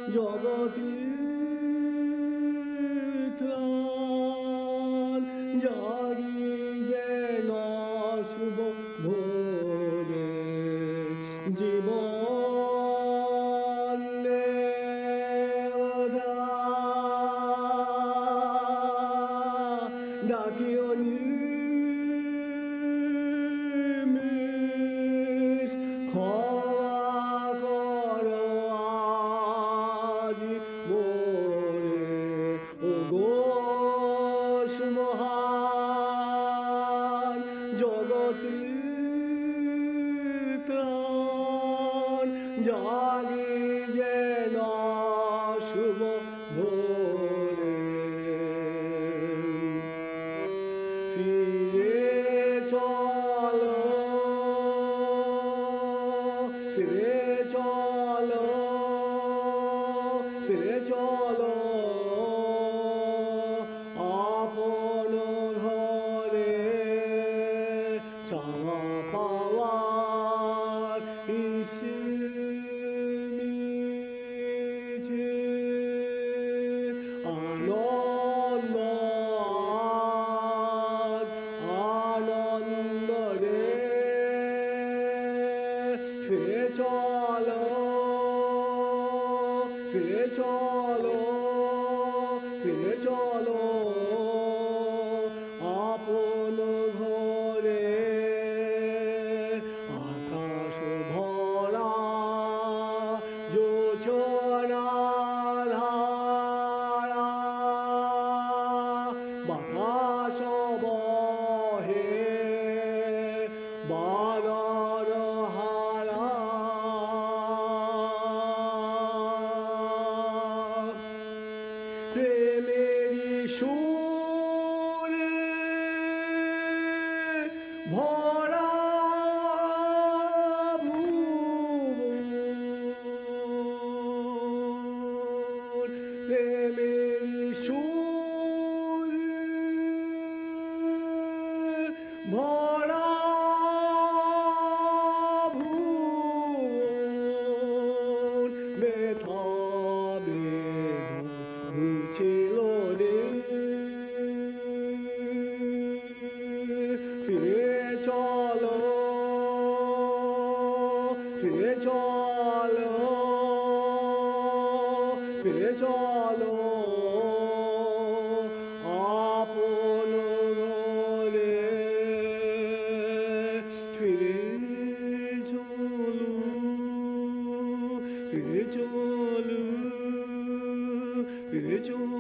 জগতের ত্রাণ জাগিয়ে না শুভ ভোরে জীবন দেবতা ডাকিও নিমিষ ক্ষমা করো আজ মোরে ও ঘোষ মহান জগতের ত্রাণ জাগিয়ে না শুভ ভোরে ফিরে চলো ফিরে চলো ফিরে চলো আপন ঘরে চাওয়া পাওয়ার ইসিনিছে আনন্দ আনন্দ রে ফিরে চলো ফিরে চলো ফিরে চলো আপন ঘরে আকাশ ভরা জোছনা ধারা বাতাস বহে বানর হারা প্রেমেরি সুরে ভরা ভুবন প্রেমেরি সুরে ভরা ভুবন ব্যথা বেদন ঘুরছিল রে ফিরে চলো ফিরে চলো ফিরে চলো আপন ঘরে ফিরে চলো ফিরে চলো ফিরে চলো